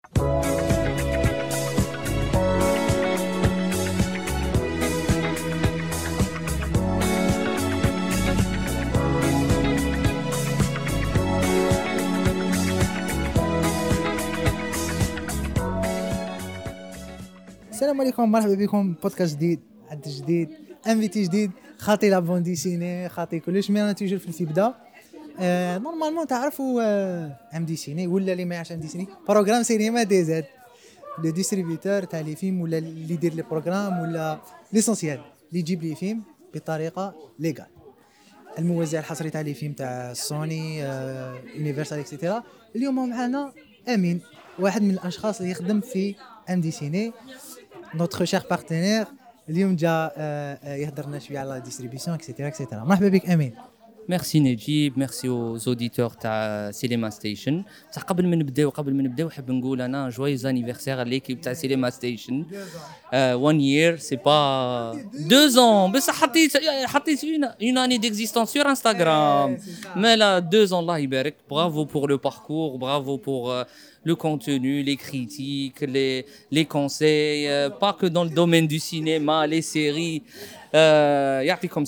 السلام عليكم، مرحبا بكم بودكاست جديد، عد جديد، انفيتي جديد، خاطي لا بون ديسيني، خاطي كلش. مي انا توجور في البدا نورمالمون تعرفوا ام دي سيني ولا اللي ما يعرفش ام دي سيني، بروغرام سينما دي زاد لو ديستريبيوتور تاع لي فيلم ولا اللي يدير لي بروغرام ولا ليسونسيال اللي يجيب لي فيلم بطريقه ليغال. الموزع الحصري تاع لي فيلم تاع سوني يونيفرسال اكسيتيرا. اليوم معنا امين، واحد من الاشخاص اللي يخدم في ام دي سيني، notre cher partenaire. اليوم جا يهضرنا شويه على ديستريبيسيون اكسيتيرا اكسيتيرا. مرحبا بك امين. ميرسي نجيب، ميرسي aux auditeurs تاع سينما ستيشن. بصح قبل ما نبداو حاب نقول انا جويز انيفرسير ليكيب تاع سينما ستيشن. 1 year سي با 2 ans، بس حطيت une année d'existence sur Instagram. Mais là 2 ans، الله يبارك. Bravo pour le parcours, bravo pour le contenu, les critiques, les conseils, pas que dans le domaine du cinéma, les séries. يعطيكم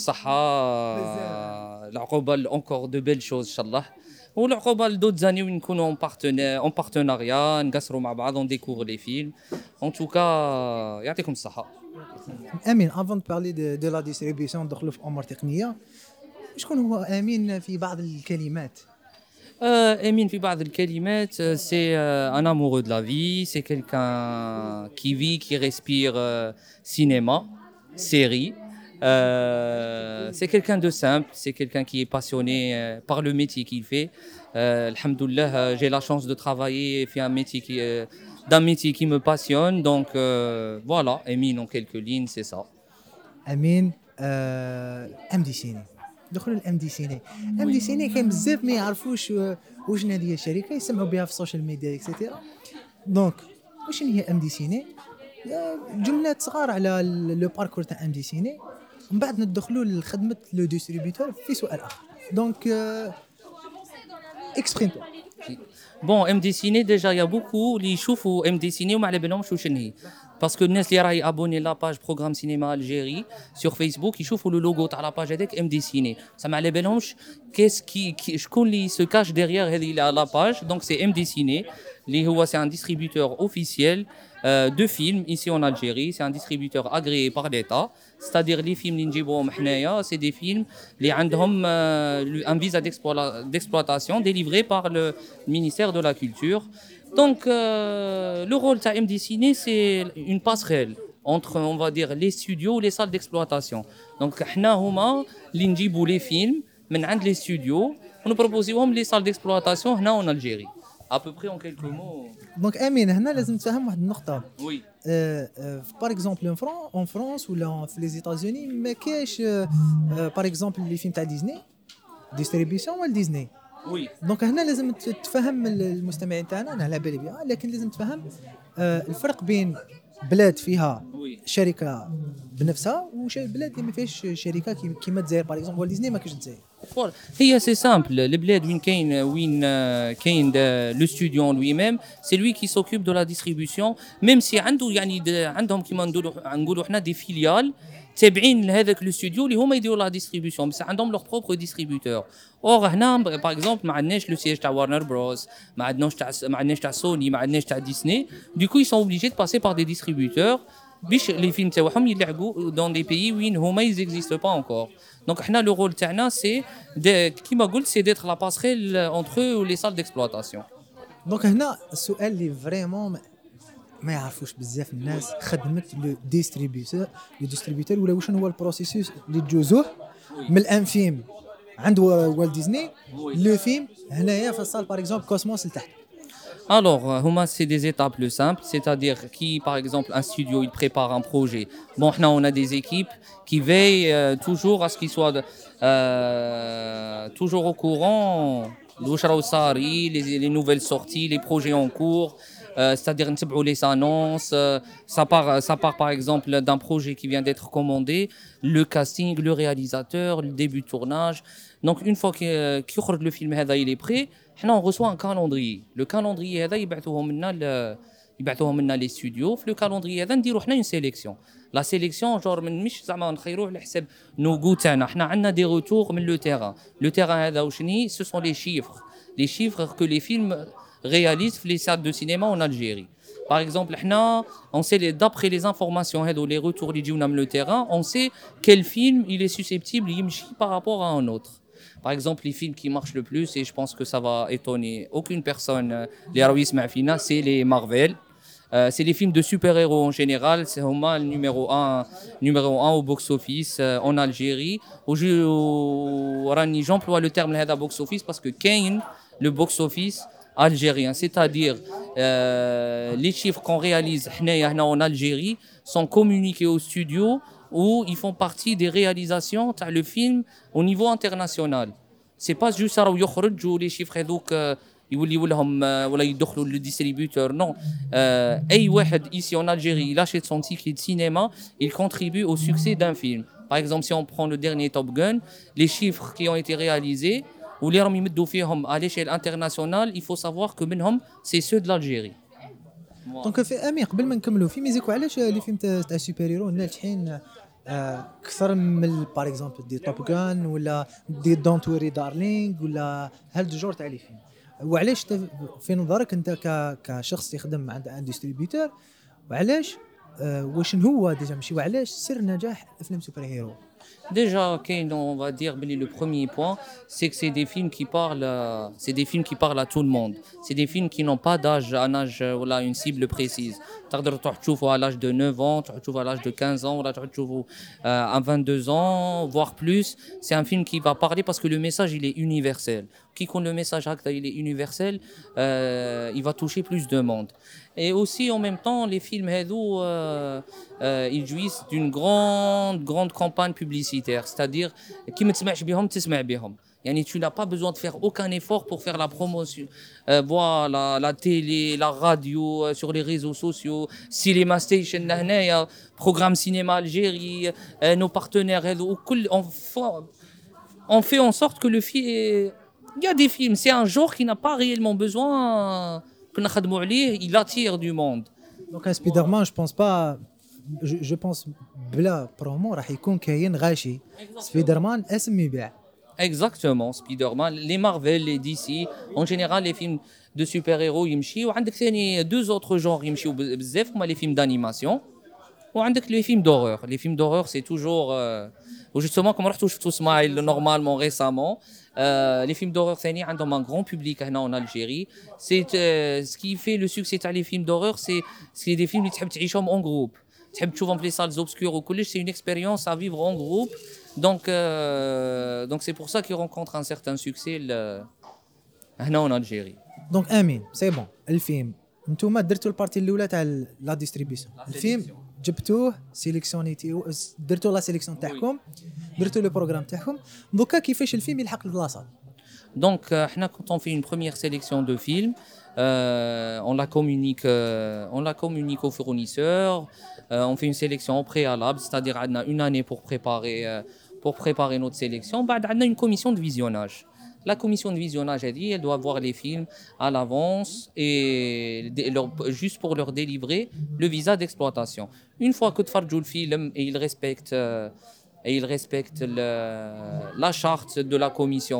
الصحة. العقوبة encore de belles choses ان شاء الله، والعقوبة d'autres années وين نكونوا en partenariat نقصروا مع بعض on découvre les films. En tout cas يعطيكم الصحة. امين avant de parler de la distribution ندخلوا في امور تقنية. شكون هو امين في بعض الكلمات؟ Emine في بعض الكلمات c'est un amoureux de la vie, c'est quelqu'un qui vit, qui respire cinéma, série. C'est quelqu'un de simple, c'est quelqu'un qui est passionné par le métier qu'il fait. Alhamdoulilah, j'ai la chance de travailler d'un métier qui me passionne. Donc voilà, Emine en quelques lignes, c'est ça. امين ام دي سيني. دخلوا الام دي سيني. ام دي سيني كاين بزاف ما يعرفوش واش هذه الشركه، يسمعوا بها في السوشيال ميديا اكسيتيرا. دونك واش هي ام دي سيني؟ جملات صغار على لو باركور تاع ام دي سيني، ومن بعد ندخلوا لخدمه لو ديستريبيوتور في سؤال اخر. دونك اكسبريم تو. Bon, MD Ciné, déjà, il y a beaucoup qui يشوفوا MD Ciné وما على بالهمش واش هي. Parce que الناس اللي راهي abonné la page Programme Cinéma Algérie sur Facebook يشوفوا le logo تاع la page هذاك MD Ciné. Ça ما على بالهمش شكون اللي se cache derrière هذه la page. Donc c'est MD Ciné اللي هو c'est un distributeur officiel de films ici en Algérie. C'est un distributeur agréé par l'État. C'est-à-dire les films اللي نجيبوهم حنايا c'est des films اللي عندهم un visa d'exploitation délivré par le ministère de la Culture. Donc le rôle de MD Ciné c'est une passerelle entre, on va dire, les studios et les salles d'exploitation. Donc حنا هما اللي نجيبوا les films من عند les studios ونبروبوزيوهم les salles d'exploitation هنا en Algérie. À peu près en quelques mots. دونك امين هنا لازم تفهم واحد النقطه. Oui. باغ اكزومبل ان فرانس ولا في لي زيتازوني ما كاينش باغ اكزومبل لي فيلم تاع ديزني ديستريبيسيون ولا ديزني. وي. دونك هنا لازم تفهم المستمعين تاعنا، انا على بالي بها، لكن لازم تفهم الفرق بين بلاد فيها شركه بنفسها وبلاد اللي ما فيهاش شركه كيما الجزائر باغ اكزومبل. ديزني ما كاينش الجزائر. هي سي سامبل. البلاد وين كاين لو ستوديو لوي ميم سي لوي كي سوكوب دو لا ديستريبيسيون. ميم سي عنده يعني عندهم كيما نقولوا حنا دي فيليال تابعين لهذاك لو ستوديو اللي هما يديروا لا ديستريبيسيون، بس عندهم لور بروبر ديستريبيوتور. اور هنا باغ اكزومبل ما عندناش لو سيج تاع وارنر بروس، ما عندناش تاع سوني، ما عندناش تاع ديسني. دوكو ils sont obligés de passer par des distributeurs باش لي فيلم تاعهم يلعبوا dans des pays وين هما ils existent pas encore. Donc حنا le rôle تاعنا c'est كيما قلت c'est d'être la passerelle entre eux ou les salles d'exploitation. دونك هنا السؤال اللي فريمون ما يعرفوش بزاف الناس، خدمه لو ديستريبيوتور ولا واش هو البروسيسوس اللي تجوزوه من الان فيلم عند والت ديزني لو فيلم هنايا في الصال باغ اكزومبل كوسموس لتحت. Alors, c'est des étapes plus simples, c'est-à-dire qui, par exemple, un studio, il prépare un projet. Bon, on a des équipes qui veillent toujours à ce qu'ils soient toujours au courant les nouvelles sorties, les projets en cours. C'est-à-dire les annonces, ça part par exemple d'un projet qui vient d'être commandé, le casting, le réalisateur, le début de tournage. Donc une fois que le film il est prêt, حنا on reçoit un calendrier. Le calendrier هذا يبعثوه منا لي ستوديو. في لو كالندري هذا نديرو حنا اون سيليكسيون. لا سيليكسيون جور من مش زعما نخيروه على حساب نوغو تاعنا. حنا عندنا دي روتور من لو تيران. لو تيران هذا وشني سو سون لي شيفر كو لي فيلم réalisent في لي سال دو سينما en Algérie. Par exemple, on sait d'après les informations et les retours qui viennent le terrain, on sait quel film il est susceptible d'imchi par rapport à un autre. Par exemple, les films qui marchent le plus, et je pense que ça va étonner aucune personne, les Arouis Ma'fina, c'est les Marvel. C'est les films de super-héros en général. C'est le numéro 1 au box-office en Algérie. J'emploie le terme de box-office parce que Kane, le box-office algérien, c'est-à-dire les chiffres qu'on réalise en Algérie sont communiqués au studio où ils font partie des réalisations de le film au niveau international. C'est pas juste ça où les chiffres يوليو لهم ولا يدخلوا لو ديستريبيوتور نو اي واحد ici en Algérie il achète son ticket de cinéma il contribue au succès d'un film. Par exemple, si on prend le dernier Top Gun, les chiffres qui ont été réalisés واللي راهم يمدوا فيهم à l'échelle internationale, il faut savoir que منهم c'est ceux de l'Algérie. دونك في امين قبل ما نكملوا في ميزيكو علاش لي فيلم تاع السوبر هيرو ناجحين اكثر من باغ اكزومبل دي توب غان ولا دي دونت وري دارلينغ ولا هاد الجور تاع لي فيلم؟ وعلاش في نظرك انت كشخص يخدم عند ان ديستريبيوتور وعلاش واش هو ديجا ماشي وعلاش سر نجاح افلام سوبر هيرو؟ Déjà, on va dire le premier point, c'est que c'est des films qui parlent à tout le monde. C'est des films qui n'ont pas d'âge, un âge voilà, une cible précise. تقدر تروح تشوفه à l'âge de 9 ans, تروح تشوفه à l'âge de 15 ans, ولا تروح تشوفه à 22 ans, voire plus. C'est un film qui va parler parce que le message il est universel. Qui compte le message il est universel, il va toucher plus de monde. Et aussi en même temps, les films ils jouissent d'une grande campagne publicitaire, c'est-à-dire qui me تسمعش بهم تسمع بهم. Yani tu n'as pas besoin de faire aucun effort pour faire la promotion. Voilà, la télé, la radio, sur les réseaux sociaux, Cinema Station, programme Cinéma Algérie, nos partenaires, on fait en sorte que le film... Il y a des films, c'est un genre qui n'a pas réellement besoin que نخدموا عليه, il attire du monde. Donc un Spider-Man, je pense pas... Je pense بلا promo راح يكون كاين غاشي. Spider-Man اسم يبيع. Exactement, Spider-Man, les Marvel, les DC, en général les films de super-héros يمشي وعندك ثاني deux autres genres يمشيو بزاف هما les films d'animation وعندك les films d'horreur. Les films d'horreur c'est toujours justement comme رحتوا شفتوا Smile normalement récemment. Les films d'horreur ثاني عندهم un grand public هنا en Algérie. C'est ce qui fait le succès تاع les films d'horreur, c'est des films اللي تحب تعيشهم en groupe. تحب تشوفهم في les salles obscures وكلش, c'est une expérience à vivre en groupe. Donc c'est pour ça qu'ils rencontrent un certain succès هنا en Algérie. Donc امين سي بون الفيلم نتوما درتوا البارتي الاولى تاع لا ديستريبيسيون. الفيلم جبتوه سيليكسيونيتي درتوا لا سيليكسيون تاعكم درتوا لو بروغرام تاعكم. دوكا كيفاش الفيلم يلحق للاصال؟ Donc quand on fait une première sélection de films, on la communique aux fournisseurs. On fait une sélection au préalable, c'est-à-dire on a une année pour préparer notre sélection. On a une commission de visionnage. La commission de visionnage, elle doit voir les films à l'avance et juste pour leur délivrer le visa d'exploitation. Une fois que tu fais le film et ils respectent la charte de la commission,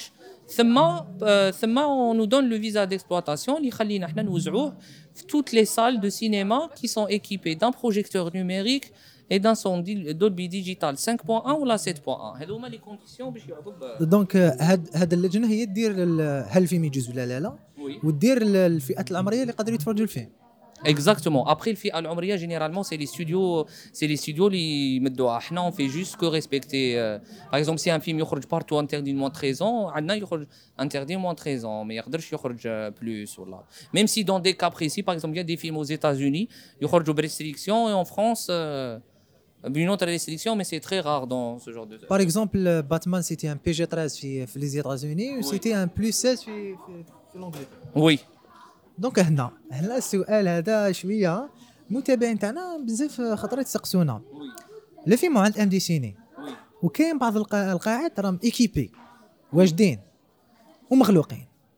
on nous donne le visa d'exploitation qui خلينا احنا نوزعوه في toutes les salles de cinéma qui sont équipées d'un projecteur numérique et d'un son Dolby Digital 5.1 ou la 7.1. هذوما les conditions باش يعطوا. دونك هاد اللجنه هي تدير هل الفيلم يجوز ولا لا ودير الفئات العمريه اللي قادرين يتفرجوا الفيلم. Exactement. Après الفئة العمرية généralement c'est les studios اللي يمدوها. احنا on fait juste que respecter. Par exemple si un film يخرج partout interdit moins 13 ans, عندنا يخرج interdit moins 13 ans, mais يقدرش يخرج plus ولا. Même si dans des cas précis, par exemple il y a des films aux États-Unis يخرجوا بريستريكسيون et en France une autre restriction, mais c'est très rare dans ce genre de. Par exemple, Batman c'était un PG-13 في les États-Unis ou c'était un plus 16 في l'Angleterre. Oui. دونك هنا السؤال هذا شويه متابعين تاعنا بزاف خطرات يسقسونا. لو فيلم عند ام دي سيني وكاين بعض القاعات راهم ايكيبي واجدين ومخلوقين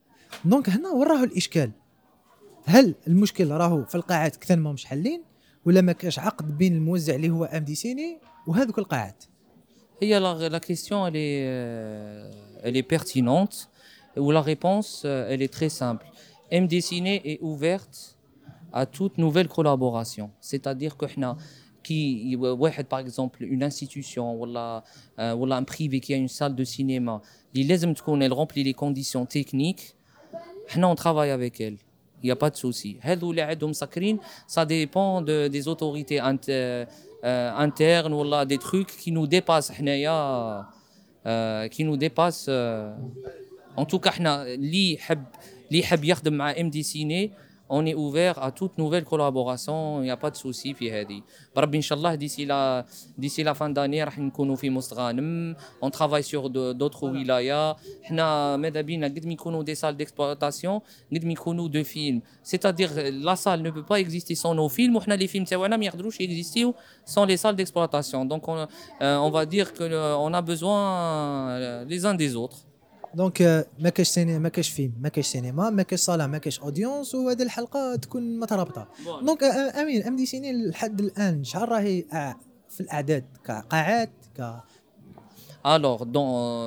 دونك هنا وين راهو الاشكال؟ هل المشكل راهو في القاعات كثر ما مش حلين، ولا ما كاش عقد بين الموزع اللي هو ام دي سيني وهذوك القاعات؟ هي la question elle est pertinente ou la réponse elle est très simple. MD Ciné est ouverte à toute nouvelle collaboration. C'est-à-dire que احنا qui واحد par exemple une institution ولا un privé qui a une salle de cinéma اللي لازم تكون elle remplit les conditions techniques, احنا on travaille avec elle. Il n'y a pas de souci. هذو اللي عندهم مسكرين ça dépend des autorités internes ولا des trucs qui nous dépassent حنايا qui nous dépassent en tout cas احنا اللي يحب يخدم مع ام دي سيني on est ouvert à toute nouvelle collaboration, il n'y a pas de souci في هذه. بربي ان شاء الله d'ici la fin d'année راح نكونوا في مستغانم. On travaille sur d'autres ولايا. احنا ماذا بينا قد ما يكونوا des salles d'exploitation قد ما يكونوا de films. C'est-à-dire la salle ne peut pas exister sans nos films, وحنا les films تاعنا ما يقدروش يكزيستيو sans les salles d'exploitation. Donc on va dire que on a besoin les uns des autres. دونك ما كاش سينما، ما كاش فيلم، ما كاش سينما، ما كاش صاله، ما كاش اودينس، وهذه الحلقه تكون مترابطه. دونك امين ام دي سيني لحد الان شحال راهي في الاعداد كقاعات الوغ دون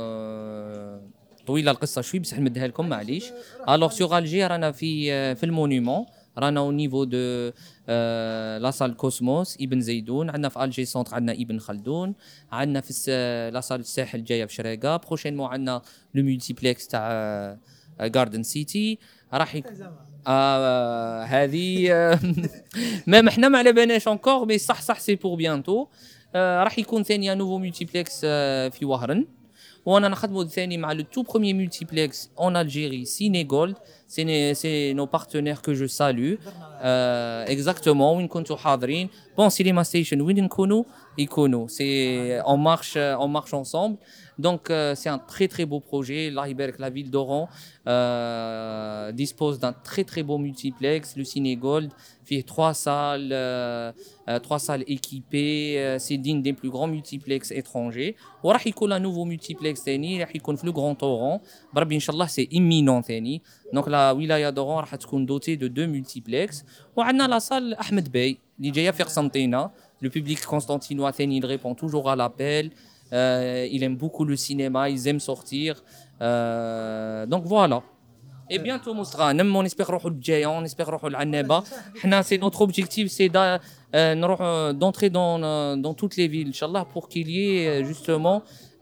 طويله القصه شوي بصح نمدها لكم معليش. الوغ سور الجي رانا في المونيمون، رانا او نيفو دو لا سال كوسموس ابن زيدون، عندنا في الجي سونتر عندنا ابن خلدون، عندنا في لا سال الساحل جايه في شريقه، بروشينمون عندنا لو مولتيبلكس تاع جاردن سيتي راح هذه ما احنا ما على بالناش انكور مي صح سي بور بيانتو. راح يكون ثاني نوفو مولتيبلكس في وهران، وانا نخدموا ثاني مع لو تو بروميير مولتيبلكس اون الجيري سيني جولد. سي نو بارتنير كو جو سالو اكزاكتومون وين كنتو حاضرين. بون سينما ستيشن وين يكونوا سي اون مارش انصامبل. Donc c'est un très beau projet. Allah يبارك, la ville d'Oran dispose d'un très beau multiplex, le Ciné Gold, fait 3 salles équipées, c'est digne des plus grands multiplex étrangers. وراح يكون un nouveau multiplex ثاني راح يكون في le Grand Oran بربي ان شاء الله, c'est imminent ثاني. Donc la wilaya d'Oran راح تكون dotée de 2 multiplex. وعندنا la salle Ahmed Bey اللي جايه في قسنطينه. Le public constantinois ثاني il répond toujours à l'appel. Il aime beaucoup le cinéma, ils aiment sortir. Donc voilà. Et bientôt مستغانم, on espère نروحوا للجايه, on espère نروحوا للعنابه. حنا c'est notre objectif, c'est نروح d'entrer dans toutes les villes inchallah pour qu'il y ait justement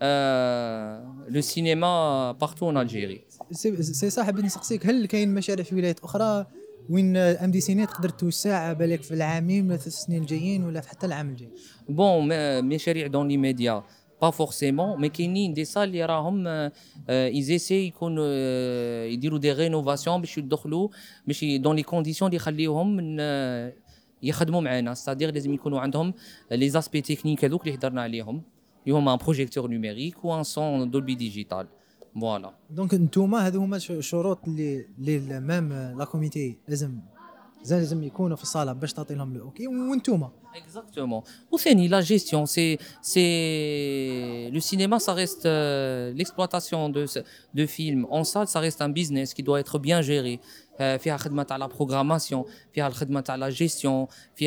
le cinéma partout en Algérie. سي صاحب نسقسيك, هل كاين مشاريع في ولايات اخرى وين ام دي سيني تقدر توسع بالك في العامين ولا 3 سنين الجايين ولا حتى العام الجاي؟ بون مشاريع دون لي ميديا با فورسيمون, مي كاينين دي سال اللي راهم ايزيسي يكونوا يديروا دي رينوفاسيون باش يدخلوا باش دون لي كونديسيون اللي يخليوهم يخدموا معنا. ستادير لازم يكونوا عندهم لي زاسبي تكنيك هذوك اللي هضرنا عليهم, اللي هما ان بروجيكتور نيميريك و ان سون دولبي ديجيتال. فوالا. دونك نتوما هذو هما الشروط اللي مام لا كوميتي لازم يكونوا في الصاله باش تعطي لهم الاوكي, وانتوما Exactement. Ou c'est la gestion, c'est le cinéma, ça reste l'exploitation de films en salle, ça reste un business qui doit être bien géré. فيها خدمة على la programmation, فيها الخدمة على la gestion,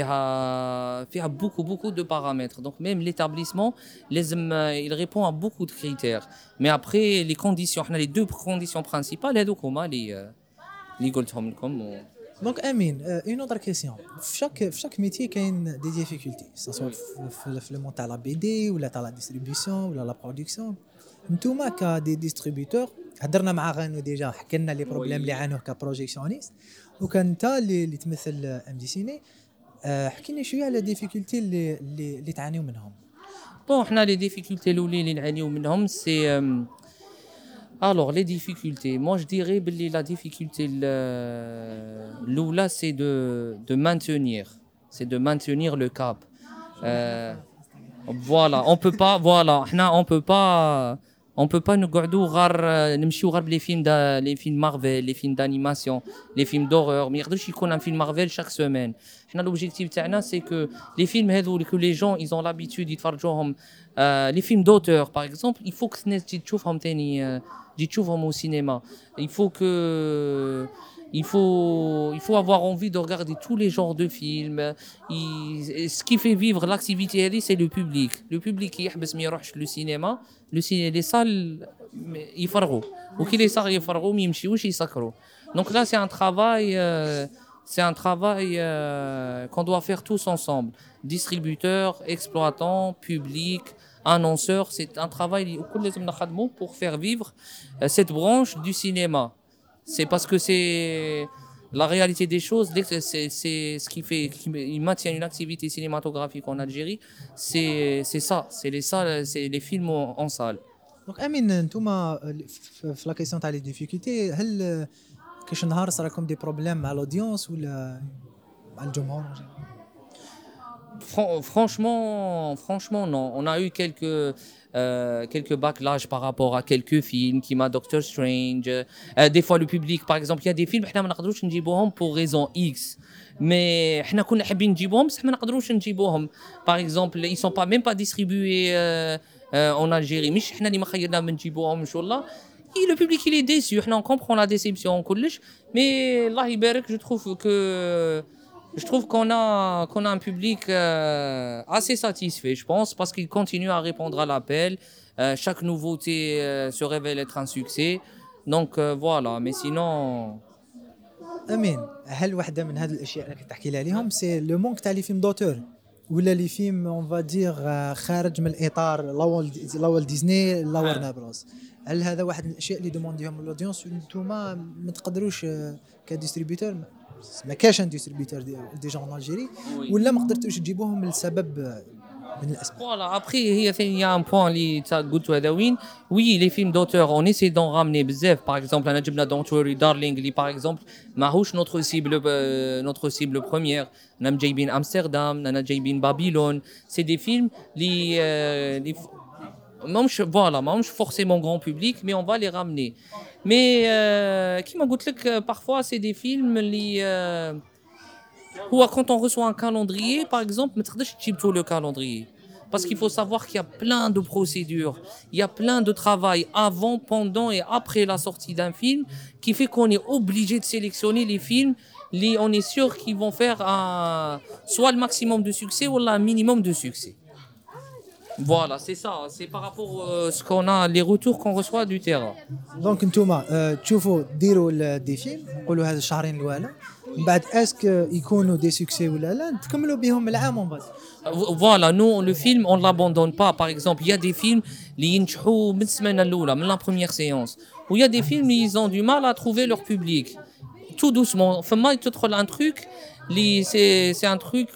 فيها beaucoup de paramètres. Donc même l'établissement, il répond à beaucoup de critères. Mais après les conditions, on a les 2 conditions principales, هذوك هما اللي قلتهم لكم. دونك امين اون اوتر كيسيون, في شاك ميتي كاين دي ديفيكولتي سواء في لو مون تاع لا بي دي ولا تاع لا ديستريبيسيون ولا لا برودكسيون. نتوما كدي ديستريبيوتور هضرنا مع غانو ديجا, حكى لنا لي بروبليم اللي عانوه كبروجيكسيونيست, وكان انت اللي تمثل ام دي سيني, حكي لنا شويه على ديفيكولتي اللي تعانيو منهم. بون حنا لي ديفيكولتي الاولين اللي نعانيو منهم سي alors les difficultés, moi je dirais que la difficulté l'oula c'est de maintenir le cap. Voilà, on peut pas nous garder نمشيو غير les films Marvel, les films d'animation, les films d'horreur, mais يقدرش يكون un film Marvel chaque semaine. حنا l'objectif تاعنا c'est que les films هذو que les gens ils ont l'habitude يتفرجوهم, les films d'auteur par exemple, il faut que الناس تشوفهم ثاني تجي تشوفهم au cinéma. Il faut avoir envie de regarder tous les genres de films. Ce qui fait vivre l'activité c'est le public. Le public qui يحبس ما يروحش le cinéma, les salles يفرغوا. وكي les salles يفرغوا ما يمشيوش يسكروا. Donc là c'est un travail qu'on doit faire tous ensemble. Distributeurs, exploitants, public, annonceurs, c'est un travail pour faire vivre cette branche du cinéma. C'est parce que c'est la réalité des choses, c'est ce qui fait qu'il maintient une activité cinématographique en Algérie, c'est ça, c'est les salles, c'est les films en salle. دونك امين انتوما في لا كيسيون تاع لي ديفيكولتي هل كاش نهار صراكم دي بروبليم مع الاودينس ولا مع الجمهور؟ Franchement, non. On a eu quelques backlash par rapport à quelques films, qui m'a Doctor Strange. Des fois, le public, par exemple, il y a des films, احنا ما نقدروش نجيبوهم pour raison X. Mais احنا كنا حابين نجيبوهم بس ما نقدروش نجيبوهم. Par exemple, ils sont même pas distribués en Algérie. مش احنا اللي ما خيرنا من نجيبوهم ان شاء الله. Et le public il est déçu. احنا on comprend la déception كلش. Mais الله يبارك, je trouve qu'on a un public assez satisfait, je pense, parce qu'il continue à répondre à l'appel. Chaque nouveauté se révèle être un succès. Donc voilà, mais sinon... امين هل واحده من هذه الاشياء اللي تحكي لي عليهم سي لو مونك تاع لي فيلم دوتور ولا لي فيلم اون فادير خارج من الاطار لا ديزني لا ورنر بروس؟ هل هذا واحد من الاشياء اللي دومونديهم الاودينس وانتوما ما تقدروش كديستريبيوتور ما كاش ان ديستريبيوتور ديجا en Algérie ولا ما قدرتوش تجيبوهم لسبب من الاسباب؟ Voilà, après il y a un point اللي قلت هذا وين. Oui, les films d'auteur on essaie d'en ramener بزاف. Par exemple انا جبنا Don't Worry Darling اللي par exemple ماهوش notre cible première. انا جايبين امستردام, انا جايبين بابيلون. C'est des films اللي ماهمش forcément grand public mais on va les ramener. Mais كيما قلت لك parfois c'est des films اللي quand on reçoit un calendrier par exemple ما تقدرش تجيب tout le calendrier parce qu'il faut savoir qu'il y a plein de procédures, il y a plein de travail avant, pendant et après la sortie d'un film qui fait qu'on est obligé de sélectionner les films on est sûr qu'ils vont faire soit le maximum de succès ou un minimum de succès. Voilà, c'est ça, c'est par rapport à ce qu'on a, les retours qu'on reçoit du terrain. دونك نتوما تشوفوا ديروا دي فيلم نقولوا هذا الشهرين الاولى من بعد اسك يكونوا دي سوكسي ولا لا تكملوا بهم العام ومن بعد. Voilà, nous le film on l'abandonne pas. Par exemple, il y a des films اللي ينجحوا من السمانه الاولى من la première séance. Ou il y a des films ils ont du mal à trouver leur public. Tout doucement, فما تدخل un truc c'est un truc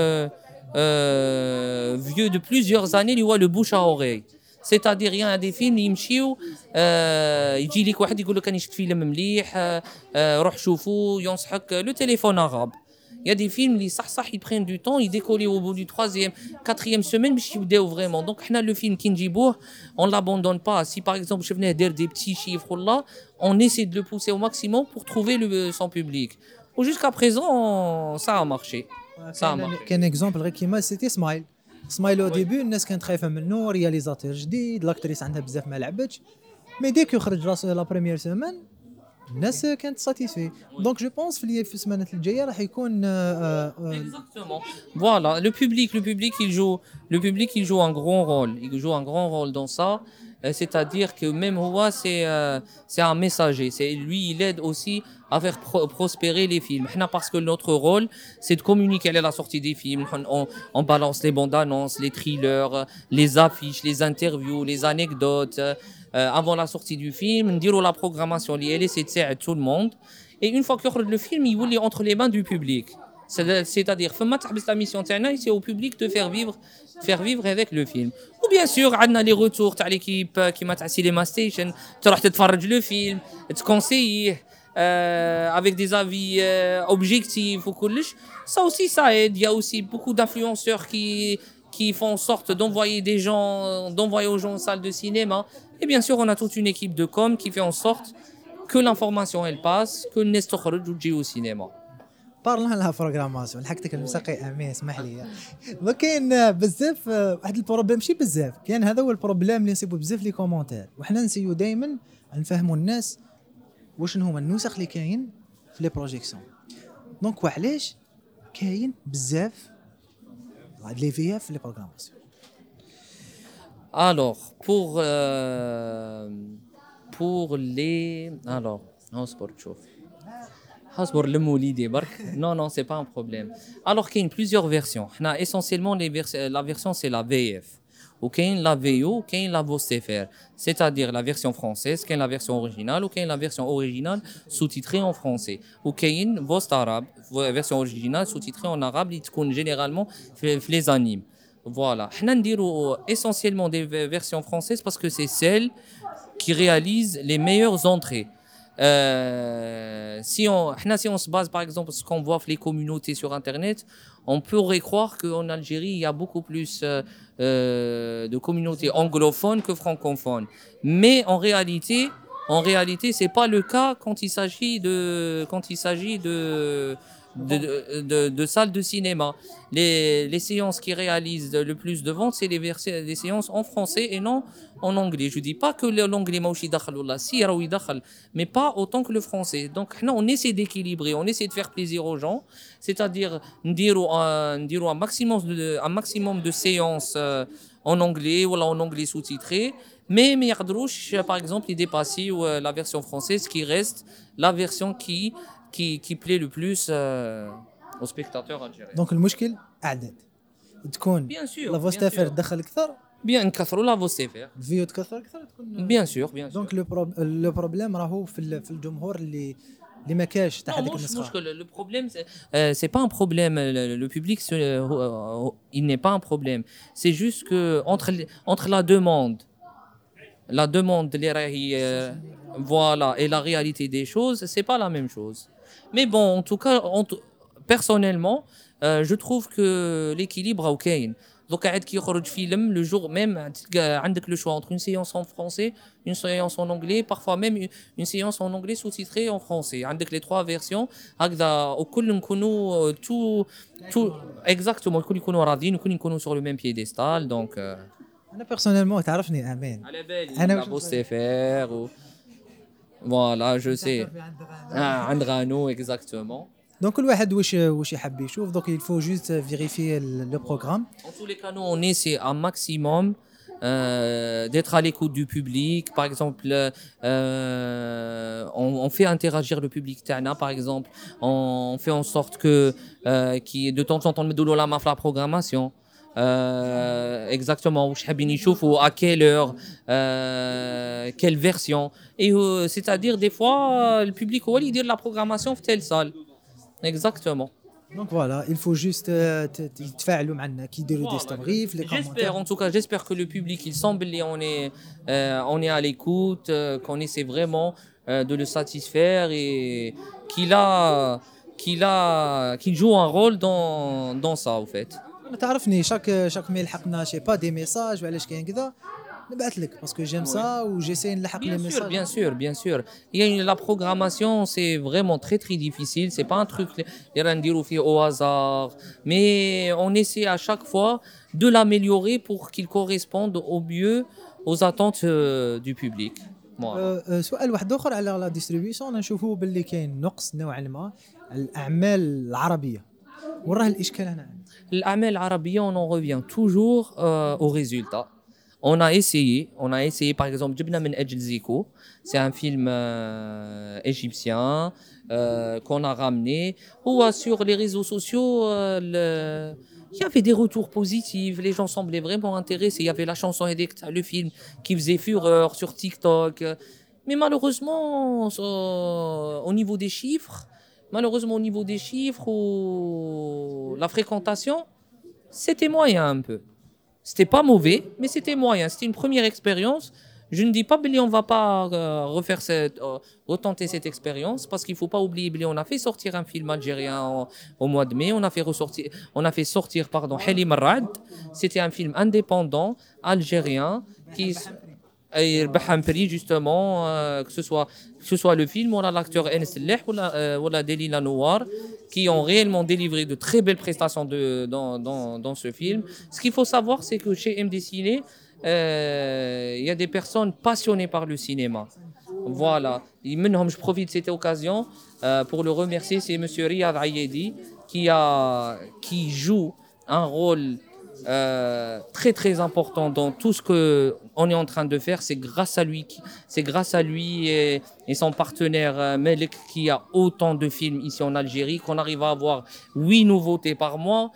vieux de plusieurs années اللي هو le bouche à oreille. C'est-à-dire il y a des films يمشيو يجي لك واحد يقول لك راني شفت فيلم مليح روح شوفوا ينصحك le téléphone arabe. Il y a des films اللي صح ils prennent du temps, ils décollent au bout du 3e, 4e semaine باش يبداو vraiment. Donc احنا le film كي نجيبوه on l'abandonne pas. Si par exemple شفناه داير des petits chiffres là, on essaie de le pousser au maximum pour trouver son public. Ou jusqu'à présent ça a marché. كان اكزومبل غير كيما سيتي سمايل او ديبي الناس كانت خايفه منه رياليزاتور جديد لاكتريس عندها بزاف ما لعبتش مي ديك يخرج راسو لا بريمير سيمين الناس كانت ساتيسفي. دونك جو بونس في السمانات الجايه راح يكون Exactement. Voilà, le public il joue un grand rôle dans ça. C'est-à-dire que même Houa c'est un messager, lui il aide aussi à faire prospérer les films. Parce que notre rôle c'est de communiquer à la sortie des films, on balance les bandes annonces, les trailers, les affiches, les interviews, les anecdotes avant la sortie du film, نديروا la programmation اللي c'est تساعد tout le monde. Et une fois que le film il est entre les mains du public. C'est-à-dire فما تحبس la mission تاعنا c'est au public de faire vivre avec le film. Ou bien sûr عندنا les retours تاع l'équipe كيما تاع Cinema Station تروح تتفرج le film تكونسييه avec des avis objectifs ou كلش. Ça aussi ça aide. Il y a aussi beaucoup d'influenceurs qui font en sorte d'envoyer aux gens en salle de cinéma. Et bien sûr on a toute une équipe de com qui fait en sorte que l'information elle passe, que الناس تخرج وتجي au cinéma. بارلون لها بروغراماسيون حقتك الموسيقي امين اسمح لي. ما كاين بزاف واحد البروبليم ماشي بزاف كاين هذا هو البروبليم اللي نصيبو بزاف لي كومونتير وحنا نسيو دائما نفهموا الناس واش هما النسخ اللي كاين في لي بروجيكسيون. دونك وعلاش كاين بزاف هاد لي في اف في لي بروغراماسيون. Alors, pour les... Alors, اصبر تشوف. اصبر لموليدي برك. Non, c'est pas un problème. Alors, il y a plusieurs versions. Essentiellement, la version, c'est la VF. Ou qu'il y a la VO, ou qu'il y a la VOSTFR. C'est-à-dire la version française, qu'il y a la version originale, ou qu'il y a la version originale sous-titrée en français. Ou qu'il y a une VOST arabe, version originale sous-titrée en arabe, qui généralement les animes. Voilà. Nous disons essentiellement des versions françaises parce que c'est celles qui réalisent les meilleures entrées. Si on se base par exemple sur ce qu'on voit les communautés sur Internet, on pourrait croire qu'en Algérie, il y a beaucoup plus de communautés anglophones que francophones. Mais en réalité, c'est pas le cas quand il s'agit de salles de cinéma. Les séances qui réalisent le plus de ventes, c'est les séances en français et non en anglais. Je dis pas que l'anglais mauchi dakhal ou la sira ou dakhal, mais pas autant que le français. Donc on essaie d'équilibrer, on essaie de faire plaisir aux gens, c'est-à-dire dire un maximum de séances en anglais ou en anglais sous-titré, mais yaqdrouch par exemple y dépasser la version française qui reste la version qui plaît le plus aux spectateurs algériens. دونك المشكل اعداد تكون Bien sûr, لا bien فوستافير sûr. تدخل اكثر Bien نكثروا la VOSTFR. الفيو تكثر اكثر تكون. Bien sûr, bien sûr. دونك لو بروبليم راهو في الجمهور اللي ما كاش تاع Non, هذيك moi, النسخه. le problème, c'est pas un problème. Le public, il n'est pas un problème. C'est juste que entre la demande, voilà, et la réalité des choses, c'est pas la même chose. Mais bon, en tout cas, personnellement, je trouve que l'équilibre est OK. Donc, quand il sort film, le jour même, tu as le choix entre une séance en français, une séance en anglais, parfois même une séance en anglais sous-titrée en français. Tu as les trois versions. Tout exactement, الكل يكونوا راضيين وكل يكونوا sur le même piédestal. Donc, انا بيرسونيلمون تعرفني امان على بالي أنا la وش VOSTFR voilà, je sais. عند غانو exactement. دونك كل واحد واش يحب يشوف. دونك il faut juste vérifier le programme. En tous les cas, nous, on essaie un maximum d'être à l'écoute du public. Par exemple, on fait interagir le public. Par exemple, on fait en sorte que de temps en temps, on met la la programmation. Exactement, où حابين يشوفوا à quelle heure, quelle version. Et c'est-à-dire, des fois, le public هو اللي يدير la programmation في telle salle. Exactement. دونك فوالا il faut juste يتفاعلوا معنا كيديروا دي ستوري في لي J'espère, كومونتير. en tout cas, j'espère que le public, il semble, on est à l'écoute, qu'on essaie vraiment de le satisfaire et qu'il joue un rôle dans ça, au fait. تعرفني شاك ما يلحقنا شي با دي ميساج وعلاش كاين كذا نبعث لك باسكو جيم سا وجيساي نلحق لي Bien sûr, ميساج. bien sûr, bien sûr. La programmation, c'est vraiment très très difficile. C'est pas un truc au hasard, mais on essaie à chaque fois de l'améliorer pour qu'il corresponde au mieux aux attentes du public. Voilà. سؤال واحد اخر على لا ديستريبيسيون. نشوفوا باللي كاين نقص نوعا ما الاعمال العربيه. وراه الاشكال هنا. L'Amel Arabia, on en revient toujours au résultat. On a essayé par exemple Jibna min Ajl Ziko, c'est un film égyptien qu'on a ramené. Ou sur les réseaux sociaux, il y avait des retours positifs, les gens semblaient vraiment intéressés. Il y avait la chanson Edek, le film qui faisait fureur sur TikTok. Mais malheureusement, au niveau des chiffres, la fréquentation, c'était moyen un peu. C'était pas mauvais, mais c'était moyen. C'était une première expérience. Je ne dis pas qu'on va pas refaire retenter cette expérience parce qu'il faut pas oublier on a fait sortir un film algérien au mois de mai. On a fait sortir Halim Rad. C'était un film indépendant algérien qui un prix justement que ce soit le film ou l'acteur Enes Leh ou la Delila Nouar qui ont réellement délivré de très belles prestations dans ce film. Ce qu'il faut savoir, c'est que chez MD Ciné, il y a des personnes passionnées par le cinéma. Voilà. Je profite de cette occasion pour le remercier. C'est Monsieur Riyad Ayedi qui joue un rôle très très important dans tout ce que on est en train de faire. C'est grâce à lui et son partenaire Melek qui a autant de films ici en Algérie qu'on arrive à avoir 8 nouveautés par mois.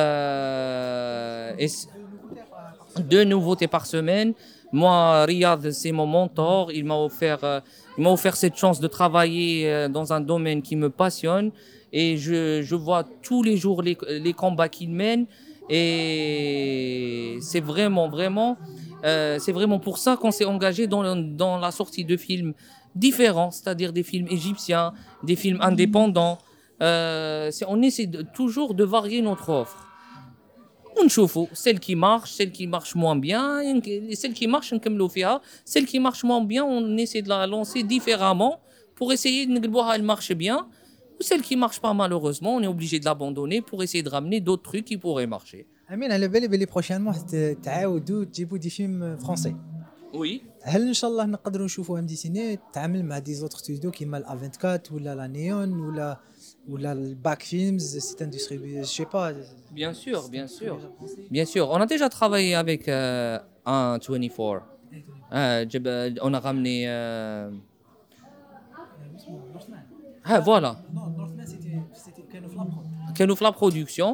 Et 2 nouveautés par semaine. Moi, Riyad, c'est mon mentor. Il m'a offert cette chance de travailler dans un domaine qui me passionne. Et je vois tous les jours les combats qu'il mène. Et c'est vraiment pour ça qu'on s'est engagé dans la sortie de films différents, c'est-à-dire des films égyptiens, des films indépendants. On essaie toujours de varier notre offre. ونشوفوا celle qui marche moins bien celle qui marche نكملوا فيها celle qui marche moins bien on essaie de la lancer différemment pour essayer de نقلبوها elle marche bien ou celle qui marche pas malheureusement on est obligé de l'abandonner pour essayer de ramener d'autres trucs qui pourraient marcher. امين على بالي بلي بروشينمون تعاودوا تجيبوا دي فيلم فرونسي. Oui. هل ان شاء الله نقدروا نشوفوا ام دي سيني تعامل مع دي زوتر ستوديو كيما لا 24 ولا لا نيون ولا الباك فيلمز سيت اندستري جو سي با. Bien sûr, bien sûr. Bien sûr, on a déjà travaillé avec un 24. On a ramené voilà. Non, Northman c'était كانوا في la production.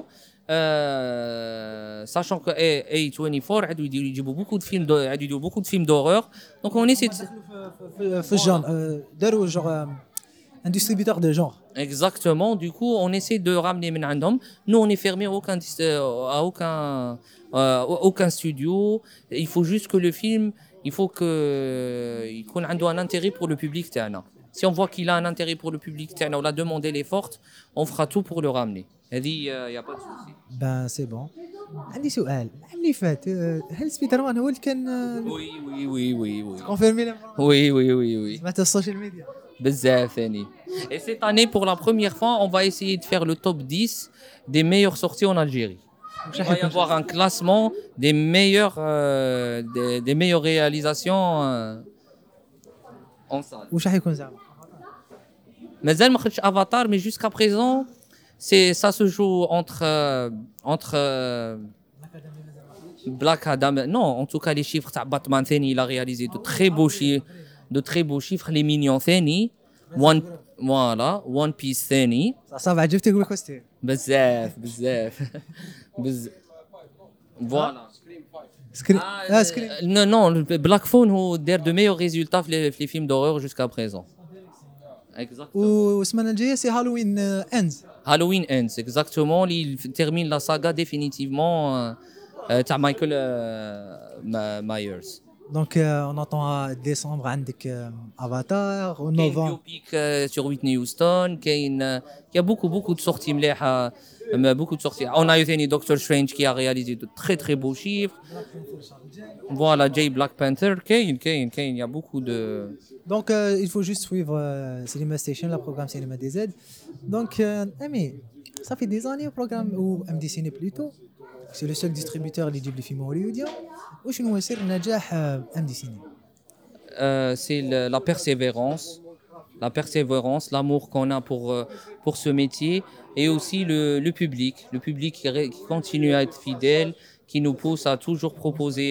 Sachant que A24 عادوا يجيبوا beaucoup de films d'horreur. Donc on essaie في الجون داروا جور un distributeur de genre. Exactement, du coup on essaie de ramener من عندهم. Nous on est fermé à aucun studio. Il faut juste que le film il faut que يكون عنده un intérêt pour le public تاعنا. Si on voit qu'il a un intérêt pour le public تاعنا ou la demande elle est forte, on fera tout pour le ramener. هذه y a pas de souci. Ben c'est bon. عندي سؤال العام اللي فات هل سبايدر مان هو اللي كان Oui. كونفيرمي Oui. سمعت السوشيال ميديا بزاف ثاني. Et cette année pour la première fois, on va essayer de faire le top 10 des meilleures sorties en Algérie. Il va y avoir un classement des meilleures réalisations en salle. واش راح يكون زعما مازال ما خرجش Avatar mais jusqu'à présent ça se joue entre Black Adam. Non, en tout cas les chiffres تاع Batman ثاني il a réalisé de très beaux chiffres. Les Mignons ثاني One Piece ثاني صافي عجبتك يقول لك وستي بزاف voilà. سكرين Non, Black Phone هو دار de meilleurs résultats في les films d'horreur jusqu'à présent. Exactement. والسمانه الجايه سي هالوين اندز Halloween Ends, exactement. Il termine la saga définitivement تاع Michael Myers. دونك اون اتون ديسمبر عندك افاتار Kain ونوفمبر biopic sur Whitney Houston. Il y a beaucoup de sorties مليحة. Beaucoup de sorties. On a eu ثاني Doctor Strange qui a réalisé de très très beaux chiffres. Voilà, Black Panther. Il y a beaucoup de... Donc il faut juste suivre Cinema Station, le programme Cinéma DZ. Donc Ami, ça fait des années au programme ou MD Ciné plutôt. C'est le seul distributeur اللي يجيب لي فيلم هوليووديا. وشنو هو سر نجاح MD Ciné؟ C'est la persévérance, l'amour qu'on a pour ce métier et aussi le public qui continue à être fidèle, qui nous pousse à toujours proposer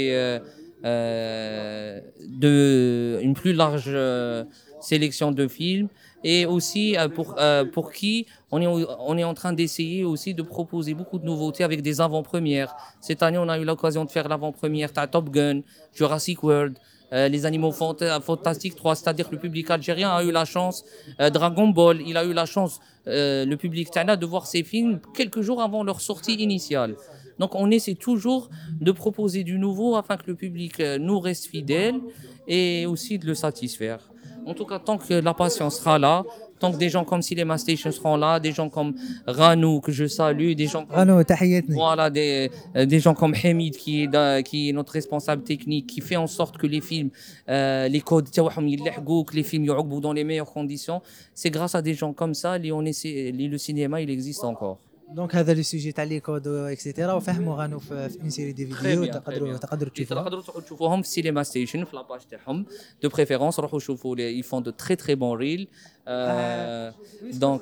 une plus large sélection de films et aussi pour qui on est en train d'essayer aussi de proposer beaucoup de nouveautés avec des avant-premières. Cette année, on a eu l'occasion de faire l'avant-première de Top Gun, Jurassic World, les animaux fantastiques 3, c'est-à-dire que le public algérien a eu la chance, Dragon Ball, il a eu la chance, le public Tana, de voir ces films quelques jours avant leur sortie initiale. Donc on essaie toujours de proposer du nouveau afin que le public nous reste fidèle et aussi de le satisfaire. En tout cas, tant que la passion sera là, tant que des gens comme Cinema Station seront là, des gens comme Ranou, que je salue, des gens comme... رانو تحياتني. Voilà, des gens comme Hamid qui est notre responsable technique, qui fait en sorte que les films, les codes, que les films يعقبوا dans les meilleures conditions. C'est grâce à des gens comme ça que le cinéma il existe encore. دونك هذا لي سوجي تاع لي كود اكسيتيرا وفهموا غانوا في اون سيري دي فيديو تقدروا تشوفوها. تقدروا تشوفوهم في سينما ستيشن في لاباج تاعهم دو بريفيرونس. روحوا شوفوا لي ils font de très très bons reels. Donc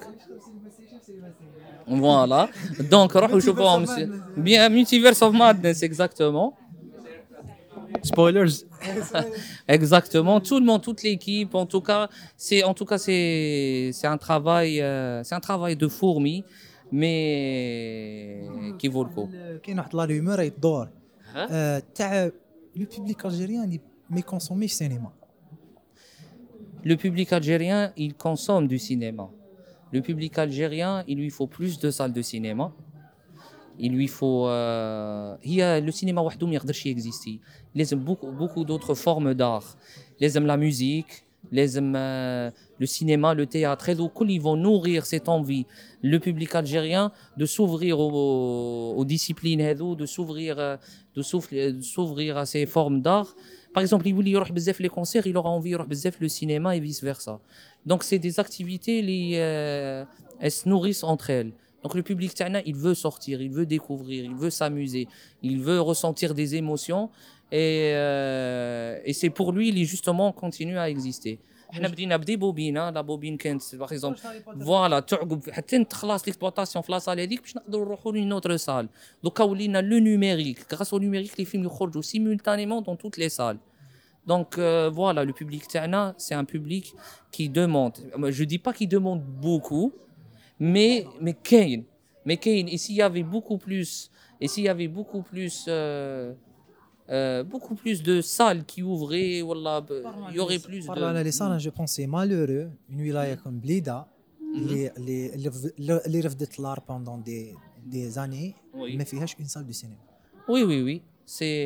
voilà. Donc روحوا شوفوهم bien Multiverse of Madness exactement. Spoilers. Exactement, tout le monde, toute l'équipe. En tout cas, c'est un travail de fourmi, mais qui vaut le coup. كاين واحد لا رومور يدور تاع لو بوبليك الجيريان اللي ما يكونسوميش سينما. Le public algérien, il consomme du cinéma. Le public algérien, il lui faut plus de salles de cinéma. Il lui faut هي le cinéma وحده ما يقدرش يكزيستي. لازم beaucoup d'autres formes d'art. لازم la musique, لازم le cinéma, le théâtre, هذو كل ils vont nourrir cette envie le public algérien de s'ouvrir aux disciplines هذو, de s'ouvrir à ces formes d'art. Par exemple, il voulait يروح بزاف les concerts, il aura envie يروح بزاف le cinéma et vice versa. Donc c'est des activités elles se nourrissent entre elles. Donc le public تاعنا, il veut sortir, il veut découvrir, il veut s'amuser, il veut ressentir des émotions et c'est pour lui اللي justement continue à exister. احنا بدينا بدي بوبينا لا بوبين كانت باغ اكزومبل فوالا تعقب حتى تخلص ليكسبلوطاسيون في لاصال هذيك باش نقدروا نروحوا لي نوتر سال. دوكا ولينا لو نوميريك غراس او نوميريك لي فيلم يخرجوا سيمولتانيمون دون توت لي سال. Donc voilà, le public تاعنا c'est un public qui demande, je dis pas qu'il demande beaucoup, mais كاين et s'il y avait beaucoup plus de salles qui ouvraient, voilà, il y aurait plus de. Parlant les salles, je pense c'est malheureux une wilaya comme Blida اللي رفضت l'art pendant des années ما فيهاش une salle de cinéma. Oui. C'est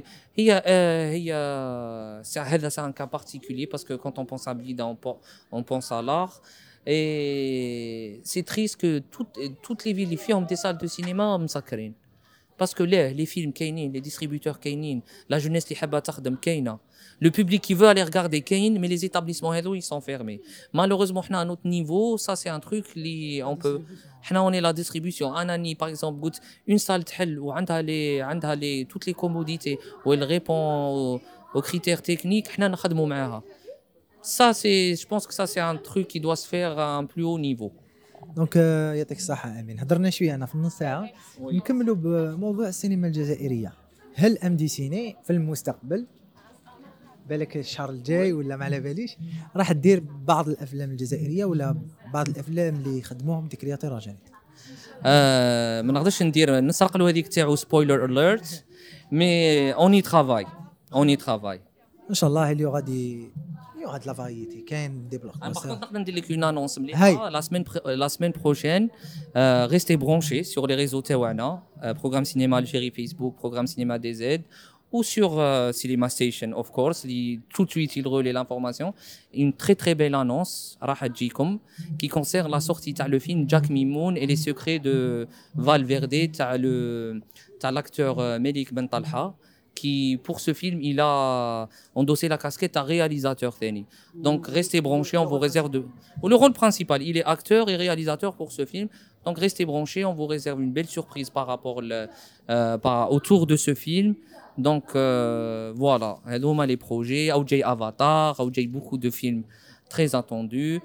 un cas particulier parce que quand on pense à Blida, on pense à l'art. Et c'est triste que toutes les villes, les films ont des salles de cinéma مسكرين. Parce que les films كاينين, les distributeurs كاينين, la jeunesse اللي حابة تخدم كاينة. Le public qui veut aller regarder كاين, mais les établissements هذو ils sont fermés. Malheureusement, à notre niveau, ça c'est un truc اللي on peut. On est la distribution. Anani, par exemple, goûte une salle تحل وعندها les toutes les commodités où elle répond aux critères techniques. حنا نخدموا معاها. Ça c'est, je pense que ça c'est un truc qui doit se faire à un plus haut niveau. دونك يعطيك الصحة أمين. هضرنا شوية أنا في النص ساعة نكملوا بموضوع السينما الجزائرية. هل ام دي سيني في المستقبل بالك الشهر الجاي ولا ما على باليش راح تدير بعض الأفلام الجزائرية ولا بعض الأفلام اللي خدموهم دي كرياتور أجانب؟ ما نقدرش نسرق له هذيك تاعو سبويلر اليرت مي اوني ترافاي إن شاء الله اللي غادي de la variété كاين دي بلوك. Par contre, نقدر ندير لك une annonce مليحة. La semaine prochaine, restez branchés sur les réseaux تاعنا, programme cinéma Algérie Facebook, programme cinéma DZ ou sur Cinema Station of course, tout de suite il relaie l'information. Une très très belle annonce راح تجيكم qui concerne la sortie تاع le film Jack Mimoun et les secrets de Valverde تاع l'acteur Melik Ben Talha qui pour ce film il a endossé la casquette à réalisateur Thani. Donc restez branchés, on vous réserve le rôle principal, il est acteur et réalisateur pour ce film. Donc restez branchés, on vous réserve une belle surprise par rapport autour de ce film. Donc voilà, هذوما les projets, ou جاي Avatar, ou جاي beaucoup de films très attendus.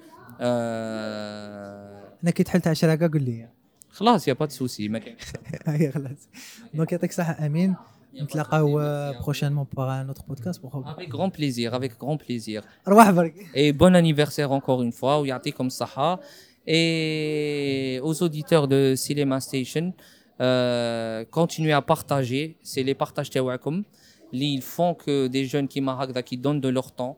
أنا كي تحلت 10 قول لي خلاص يا با de souci ما كاين. خلاص. دونك يعطيك الصحة أمين. نتلاقاو prochainement pour un autre podcast. Avec grand plaisir. أرواح برك. Et bon anniversaire encore une fois, ويعطيكم الصحة. Et aux auditeurs de Cinema Station, continuez à partager, c'est les partages تاعكم اللي font que des jeunes qui donnent de leur temps,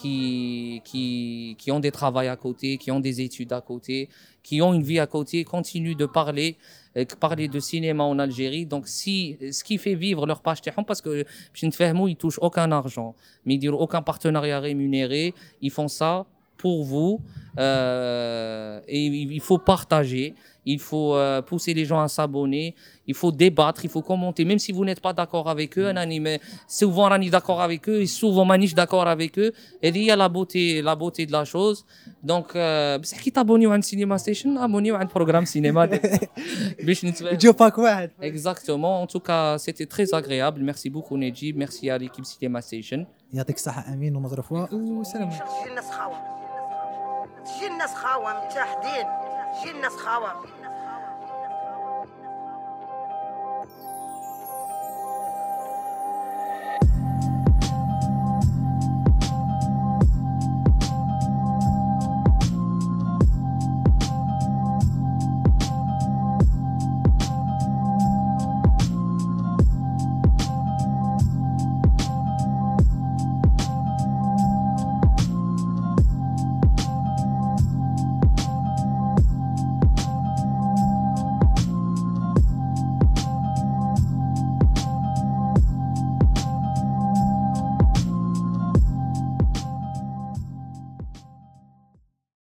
qui ont des travails à côté, qui ont des études à côté, qui ont une vie à côté, continuent de parler de cinéma en Algérie. Donc ce qui fait vivre leur page تاعهم, parce que ils touchent aucun argent, mais ils diront aucun partenariat rémunéré, ils font ça pour vous, et il faut partager, il faut pousser les gens à s'abonner, il faut débattre, il faut commenter, même si vous n'êtes pas d'accord avec eux. Mais souvent, on est d'accord avec eux et souvent, on n'est pas d'accord avec eux. Et il y a la beauté de la chose. Donc, si tu t'abonnes à un cinéma station, abonnez à un programme cinéma. جو باك واحد. Exactement. En tout cas, c'était très agréable. Merci beaucoup, Nejib. Merci à l'équipe Cinéma Station. يعطيك الصحة أمين ومظروفة وسلام. تجي الناس خاوة متحدين، تجي الناس خاوة